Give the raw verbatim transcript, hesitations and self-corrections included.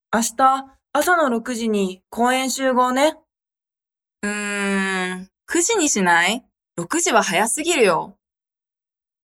明日、朝のろくじに公園集合ね。 うーん、くじにしない？ ろく 時は早すぎるよ。